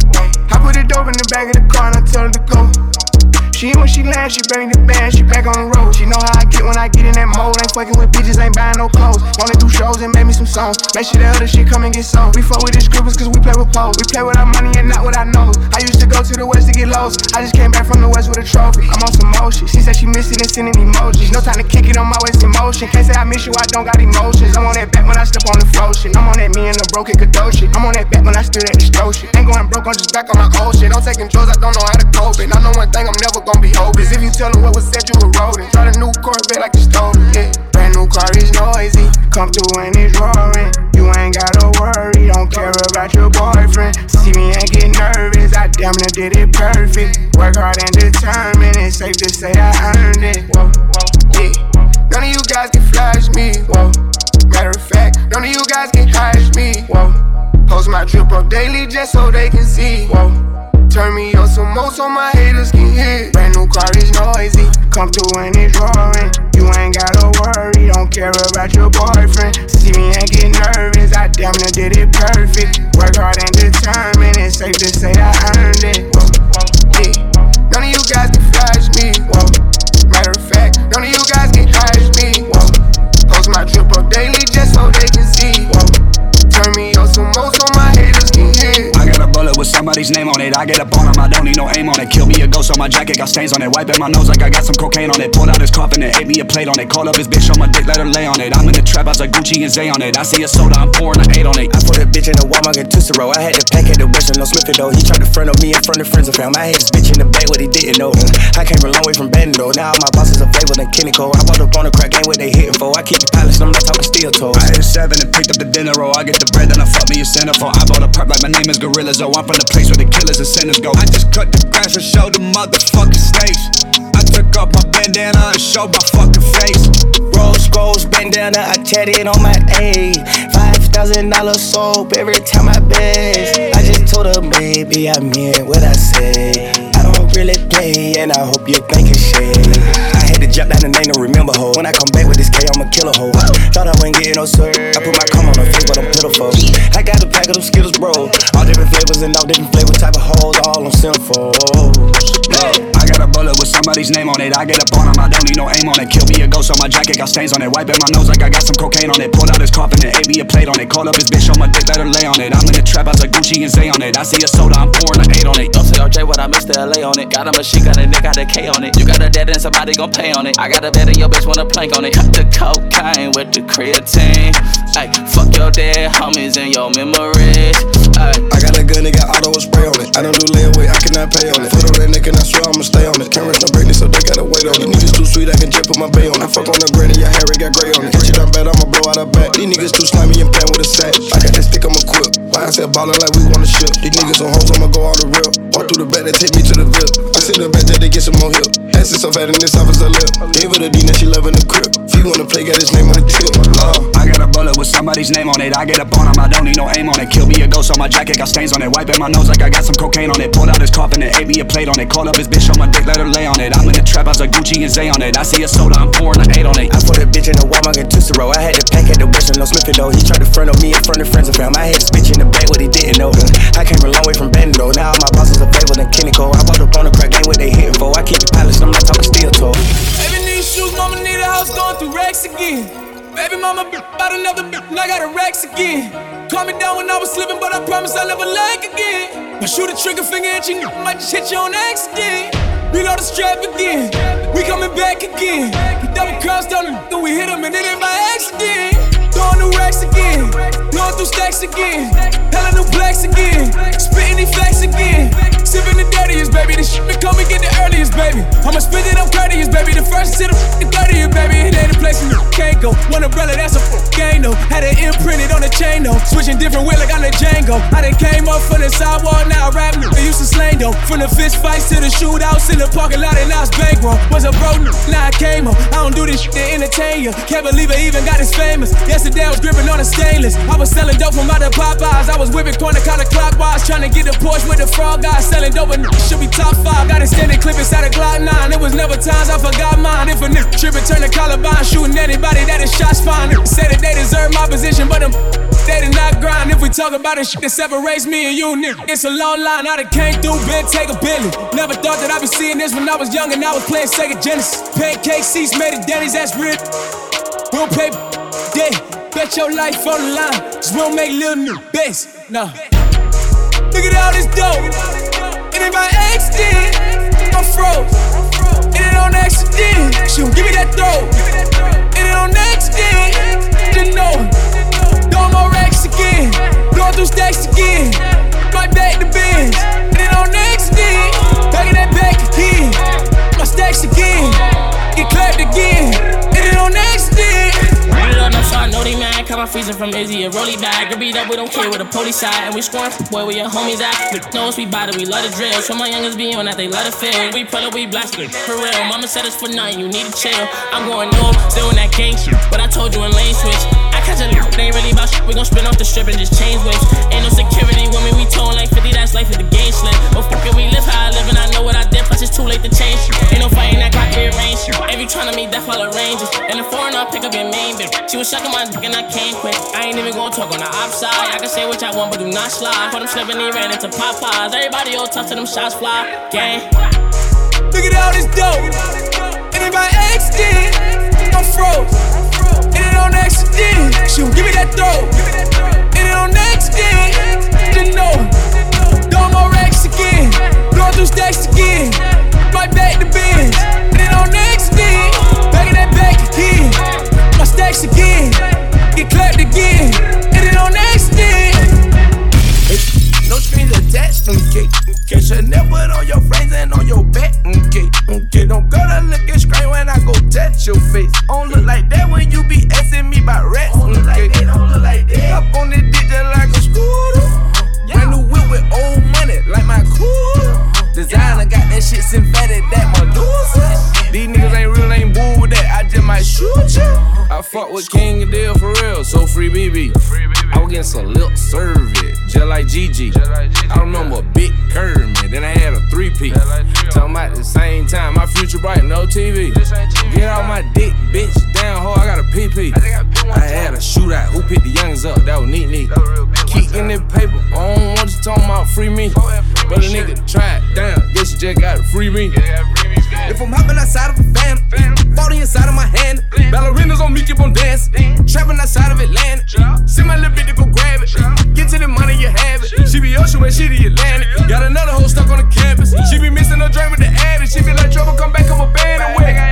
[SPEAKER 14] I put the dope in the back of the car and I tell her to go. She when she lands, she bring the band, she back on the road. She know how I get when I get in that mode. Ain't fucking with bitches, ain't buying no clothes. Wanna do shows and make me some songs. Make sure that other shit come and get sold. We fuck with the scribbles cause we play with pole. We play with our money and not with our nose. I used to go to the west to get lost. I just came back from the west with a trophy. I'm on some motion. She said she miss it and sending emojis. No time to kick it on my waist in motion. Can't say I miss you, I don't got emotions. I'm on that back when I step on the flow shit. I'm on that me and the broken Kadosh shit. I'm on that back when I stood at the stove shit. Ain't going broke, I'm just back on my old shit. I'm taking drugs, I don't know how to cope it. I know one thing, I'm never gonna be hopeless. If you tell them what was said, you were rolling. Got a new Corvette like you stole it, yeah. Brand new car is noisy. Come through and it's roaring. You ain't gotta worry, don't care about your boyfriend. See me and get nervous, I damn near did it perfect. Work hard and determined, it's safe to say I earned it. Whoa, yeah. None of you guys can flash me, whoa. Matter of fact, none of you guys can catch me, whoa. Post my drip up daily just so they can see, whoa. Turn me up some more so my haters can hear. Brand new car is noisy. Come through and it's roaring. You ain't gotta worry, don't care about your boyfriend. See me and get nervous, I damn near did it perfect. Work hard and determined, it's safe to say I earned it. Whoa, yeah. None of you guys can flash me, whoa. Matter of fact, none of you guys can catch me, whoa. Post my drip up daily just so they can see, whoa. Turn me up some more so my haters can hear.
[SPEAKER 22] I got a bullet with somebody
[SPEAKER 1] somebody's name on it. I get up on him, I don't need no aim on it. Kill me a ghost on my jacket, got stains on it. Wiping my nose like I got some cocaine on it. Pulled out his coffin and ate me a plate on it. Called up his bitch on my dick, let her lay on it. I'm in the trap, I was like Gucci and Zay on it. I see a soda, I'm pouring, I ate on it.
[SPEAKER 22] I put a bitch in the Walmart and Tootsie Roll. I had to pack at the Western, no Smith though. He tried to front of me in front of friends and fam. I hate this bitch in the back, what he didn't know. I came a long way from Bandit though. Now all my bosses are flavor than Kenny Cole. I bought up on the crack, ain't what they hitting for. I keep it polished, I'm not talking steel toes.
[SPEAKER 1] I hit a 7 and picked up the dinner roll. I get the bread, then I fuck me a centerfold. I bought a perp like my name is Gorillas. Oh, I'm from the place where the killers and sinners go. I just cut the grass and showed the motherfucking stakes. I took off my bandana and showed my fucking face.
[SPEAKER 22] Rose goes bandana, I tatted on my A. $5,000 soap every time I best. I just told her, baby, I meant what I said. I don't really play, and I hope you think it's shit. I had to jump down and ain't no remember hoe. When I come back with this K, I'ma kill a hoe. Thought I wasn't getting no sir. I put my cum on her face, but I'm pitiful. I got a pack of them Skittles, bro. All different flavors and all different flavor type of hoes, all on sinful.
[SPEAKER 1] I got a bullet with somebody's name on it. I get up on him, I don't need no aim on it. Kill me a ghost on my jacket, got stains on it. Wiping my nose like I got some cocaine on it. Pulled out his coffin and ate me a plate on it. Called up his bitch on my dick, let her lay on it. I'm in the trap, I was like Gucci and Zay on it. I see a soda, I'm pouring, I ate on it.
[SPEAKER 23] Don't say RJ what I missed the LA on it. Got a machine, got a nick, got a K on it. You got a dead and somebody gon' pay on it. I got a bed and your bitch wanna plank on it. Cut the cocaine with the creatine. Ay, fuck your dead homies and your memories. Ay.
[SPEAKER 22] I got a gun, they got auto spray on it. I don't do layaway, I cannot pay on it. Foot on that neck and I swear I'ma stay on it. Cameras no break, so they gotta wait on it. These niggas too sweet, I can just put my bay on it. Fuck on the granny, your hair, it got gray on it. Catch it up bad, I'ma blow out her back. These niggas too slimy and playing with a sack. I got that stick, I'ma quip. Why I said ballin' like we on the ship. These niggas on hoes, I'ma go all the real. Walk through the back, they take me to the VIP. I sit in the back, they get some more help. Ass is so fat in this office, I lip. Gave her the D, now she loving the crib. If you wanna play, got his name on the tip.
[SPEAKER 1] I got a bullet with somebody's name on it. I get up on him, I don't need no aim on it. Kill me a ghost on my jacket, got stains on it. Wiping my nose like I got some cocaine on it. Pulled out his coffin and ate me a plate on it. Called up his bitch on my dick, let her lay on it. I'm in the trap, I was like Gucci and Zay on it. I see a soda, I'm pouring, I ate on it.
[SPEAKER 22] I put a bitch in the Walmart and Tootsie Roll. I had to pack at the Western, no Smith though. He tried to front of me in front of friends and fam. I had this bitch in the back, what he didn't know. I came a long way from Bandit though. Now all my bosses are flavor than Kenny Cole. I bought up on the crack, ain't what they hitting for. I keep it polished, I'm not talking steel toe.
[SPEAKER 4] Baby need shoes, mama need a house, going through racks again. Baby mama bought another and I got her racks again. Calm me down when I was slipping, but I promise I'll never lag again. I shoot a trigger finger at you, might just hit you on accident. Reload the strap again, we coming back again. We double crossed on him, then we hit him and it ain't by accident. Throwing new racks again, blowing through stacks again. Hella new blacks again, spitting these facts again. Sipping the dirtiest, baby, this shit come and get the earliest, baby. I'ma spit it, I'm courteous, baby. The first to the 30th, baby. It ain't a place you can't go. One umbrella, that's a gang, though. Had it imprinted on the chain, though. Switching different wheel like I'm the Django. I done came up from the sidewalk, now I rap they used to slang, though. From the fist fights to the shootouts in the parking lot, and now it's bankroll. Was a bro, now I came up. I don't do this shit to entertain you. Can't believe I even got this famous. Yesterday I was gripping on a stainless. I was selling dope from out of Popeyes. I was whipping corner counterclockwise, trying to get the Porsche with the frog guy. Selling dope and should be top 5. Got extended clip inside a Glock 9. It was never times I forgot mine. If a nigga trippin', turn the Columbine, shooting anybody that is shots fine. Say that they deserve my position, but they did not grind. If we talk about the shit that separates me and you, nigga, it's a long line. I done came through, been take a Billy. Never thought that I'd be seeing this when I was young and I was playing Sega Genesis. Pancake seats made of Denny's, that's real. We'll pay day. Bet your life on the line, just won't make little new bets. Nah. Look at all this dope. It ain't by accident. I'm froze. It ain't on accident. She gon' give me that throw. It ain't on accident. Didn't know. Throwing more racks again. Blowing through stacks again. Right back to bins. It ain't on accident. Bagging that back again. My stacks again. Get clapped again. It ain't on accident.
[SPEAKER 24] Run it up, no shot, no they mad. Come my freezer from Izzy, a rolly bag. Get beat up, we don't care with the police side. And we scoring, boy, where your homies at. But knows we bout it, we love the drill. So my youngers be on that, they love the feel. We pull up, we blast it, for real. Mama said it's for nothing, you need to chill. I'm going north, still in that gang shit. But I told you in lane switch. I catch a loop, they ain't really about shit. We gon' spin off the strip and just change whips. Ain't no security with me, we towing like 50, that's life if the game slip. But fuck it, we live how I live and I know what I did. Plus it's too late to change shit. Ain't no fighting that clock rearranged. Every tryna meet death all arranges. And the foreign I'll pick up your main bitch. She was sucking my dick and I can't quit. I ain't even gonna talk on the outside. I can say what I want but do not slide. Put them slipping, he ran into Popeyes. Everybody all tough to them shots fly. Gang.
[SPEAKER 4] Look at all this dope. It ain't by accident. I'm froze. It ain't on accident. She gon' give me that throw. It ain't on accident. Didn't know. Throwing more racks touch your face. Don't look like that when you be asking me about rats. Don't look like that, don't look like that. Up on this dick just like a scooter. Brand new whip with old money, like my cooler. Designer got that shit synthetic, that Medusa. These niggas ain't real, ain't bull with that, I just might shoot ya. I fuck with King and Deal for real, so free BB. I was getting some lip service, just like Gigi. I remember a big curve, man, then I had a 3P. Talking about the same time, my future bright, no TV. Get out my dick, bitch, down ho, I got a PP. I had a shootout, who picked the youngest up, that was neat. Keep in that paper, I don't want you talking about free me. But a nigga try it, damn, guess you just gotta free me. If I'm hopping outside of a fan, 40 inside of my hand. Ballerinas on me, keep on dancing. Trapping outside of Atlanta. Send my little bitch to go grab it. Get to the money, you have it. She be ocean when she the Atlantic. Got another hoe stuck on the campus. She be missing her drink with the addict. She be like, trouble, come back, I'm a band and win.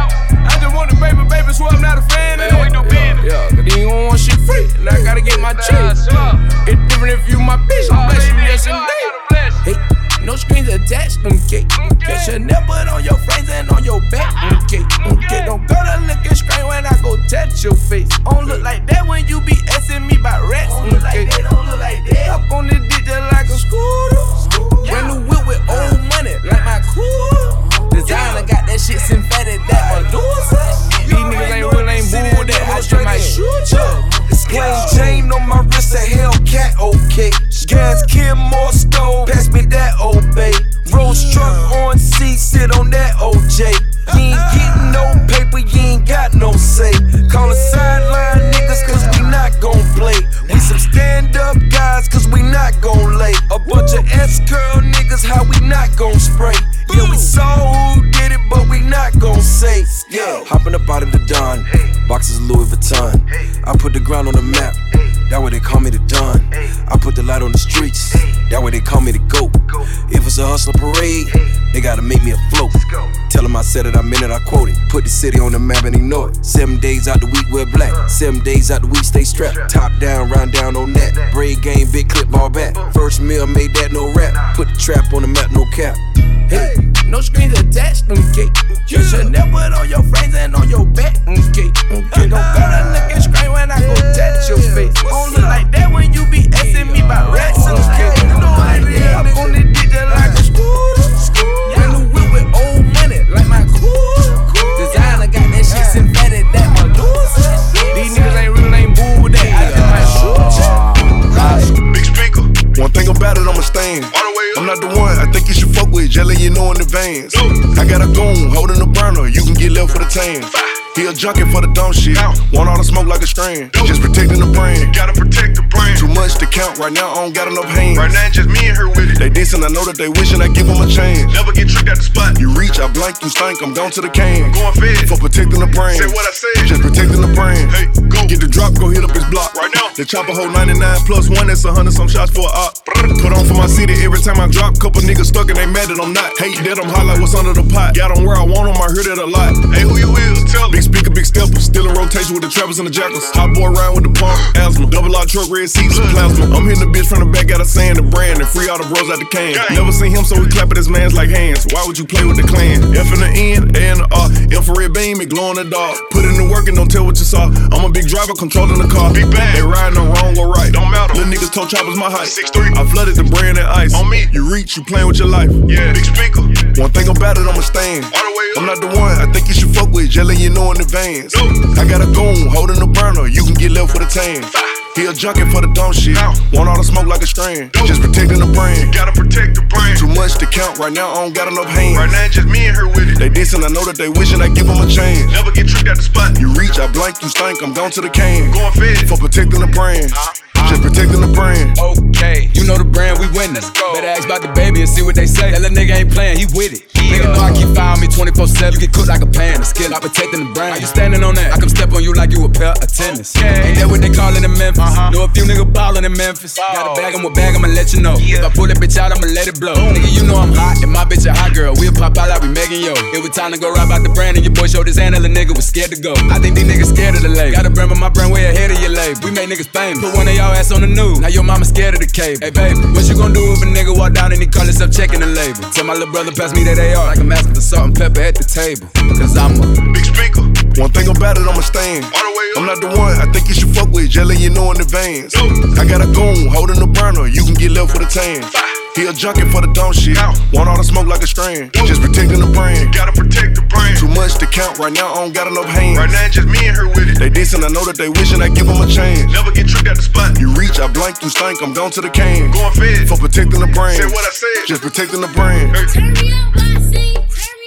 [SPEAKER 4] I just want the baby, so I'm not a fan of it. Yeah, cause you don't want shit free, and I gotta get my cheese. It's different if you my bitch, I'm blessed you, yes indeed. Hey, no strings attached, okay. Catch your nipple on your friends and on your back, okay. Don't go to looking straight when I go touch your face. Don't look like that when you be asking me about rats, okay. Don't look like that. Up on this dick just like a scooter. Brand new whip with old money, like my cooler. Designer got that shit synthetic, that Medusa. These niggas ain't real, ain't bull with that, I just might shoot ya.
[SPEAKER 5] Plain chain on my wrist, a Hellcat, okay. Gas, Kim, more stove, pass me that old bay. Rose truck on C, sit on that OJ. You ain't getting no paper, you ain't got no say. Call the sideline niggas, cause we not gon' play. We some stand up guys, cause we not gon' lay. A bunch of S-curl niggas, how we not gon' spray. Yeah, we saw who did it, but we not gon' say. Yeah, hopping up out of the Don, boxes of Louis Vuitton. I put the ground on the map, that way they call me the Don. I put the light on the streets, that way they call me the GOAT. If it's a hustler parade, they gotta make me afloat. Tell them I said it, I meant it, I quote it. Put the city on the map and they know it. 7 days out the week we're black, 7 days out the week stay strapped. Top down, round down on that. Braid game, big clip, ball back. First meal made that, no rap. Put the trap on the map, no cap.
[SPEAKER 4] Hey, no strings attached, okay. Just your nipple on your friends and on your back, okay. Don't go to looking straight when I go touch your face. Don't look like that when you be asking me about rats, okay. Up on this dick just like a scooter. Brand new whip with old money, like my cooler. Designer got that shit synthetic, that Medusa. These niggas ain't real, ain't bull with that, I just might shoot ya.
[SPEAKER 6] Big speaker. One thing about it, I'm a stain. I'm not the one I think you should fuck with, jelly you know in advance. I got a goon holding a burner, you can get left for the tan. He a junkie for the dumb shit, want all the smoke like a strand. Just protecting the brand, gotta protect the brand. Too much to count, right now I don't got enough hands. Right now just me and her with it. They decent, I know that they wishing I give them a chance. Never get tricked at the spot. You reach, I blank, you stink, I'm gone to the can. Going fed, for protecting the brand. Say what I said, just protecting the brand. Hey, go. Get the drop, go hit up his block. Right now, the chopper hold 99 plus 1, that's 100 some shots for a op. Put on for my city every time I drop. Couple niggas stuck and they mad that I'm not. Hate that I'm hot like what's under the pot. Got them where I want them, I heard it a lot. Hey, who you is? Tell me. Big speaker, big stepper. Still in rotation with the trappers and the jackals. Hot boy ride with the pump, asthma. Double R truck, red seats, plasma. I'm hitting the bitch from the back, got a saying the brand and free all the bros out the can. Never seen him, so we clap at his mans like hands. Why would you play with the clan? F in the N, A in the R. Infrared beam, it glow in the dark. Put in the work and don't tell what you saw. I'm a big driver, controlling the car. Big bang. They riding the wrong or right. Don't matter. Little niggas told choppers my height. 6'3". I flooded the brand and ice. On me. You reach, you playing with your life. Yeah. Big speaker. One thing about it, I'm a stain. I'm not the one I think you should fuck with, jelly you know in advance. I got a goon holding the burner, you can get left with a tan. He a junkie for the dumb shit, want all the smoke like a strand. Just protecting the brand, gotta protect the brand. Too much to count, right now I don't got enough hands. Right now just me and her with it. They decent, I know that they wishing I give them a chance. Never get tricked at the spot. You reach, I blank, you stink, I'm gone to the can. Going fed, for protecting the brand. Just protecting the brand.
[SPEAKER 13] Okay, you know the brand, we winning. Better ask about the baby and see what they say. That little nigga ain't playing, he with it. Nigga know I keep firing me 24/7. You get cooked like a pan, the skill, I'm protecting the brand. How you standing on that? I come step on you like you a pair of tennis. Ain't that what they callin' in Memphis? Know a few niggas ballin' in Memphis. Got a bag, I'm a bag, I'ma let you know. If I pull that bitch out, I'ma let it blow. Nigga, you know I'm hot, and my bitch a hot girl. We'll pop out like we Megan Yo. It was time to go rap out the brand, and your boy showed his hand, and the nigga was scared to go. I think these niggas scared of the label. Got a brand, but my brand way ahead of your label. We make niggas famous. Put one of y'all ass on the news. Now your mama scared of the cable. Hey baby, what you gon' do if a nigga walk down and he call himself checking the label? Tell my little brother pass me that AR, like I'm asking for salt and pepper at the table. Cause I'm a
[SPEAKER 6] big speaker. One thing about it, I'ma stand. I'm not the one I think you should fuck with, jelly you know in advance. I got a goon holding the burner, you can get left with a tan. He a junkie for the dumb shit, want all the smoke like a strand. Just protecting the brand,
[SPEAKER 14] gotta protect the brand.
[SPEAKER 6] Too much to count, right now I don't got enough hands.
[SPEAKER 14] Right now just me and her with it.
[SPEAKER 6] They decent, I know that they wishing I give them a chance.
[SPEAKER 14] Never get tricked out the spot.
[SPEAKER 6] You reach, I blank, you stink, I'm gone to the can.
[SPEAKER 14] Going fed
[SPEAKER 6] for protecting the brand.
[SPEAKER 14] Said what I said.
[SPEAKER 6] Just protecting the brand.
[SPEAKER 2] Turn me up, I see.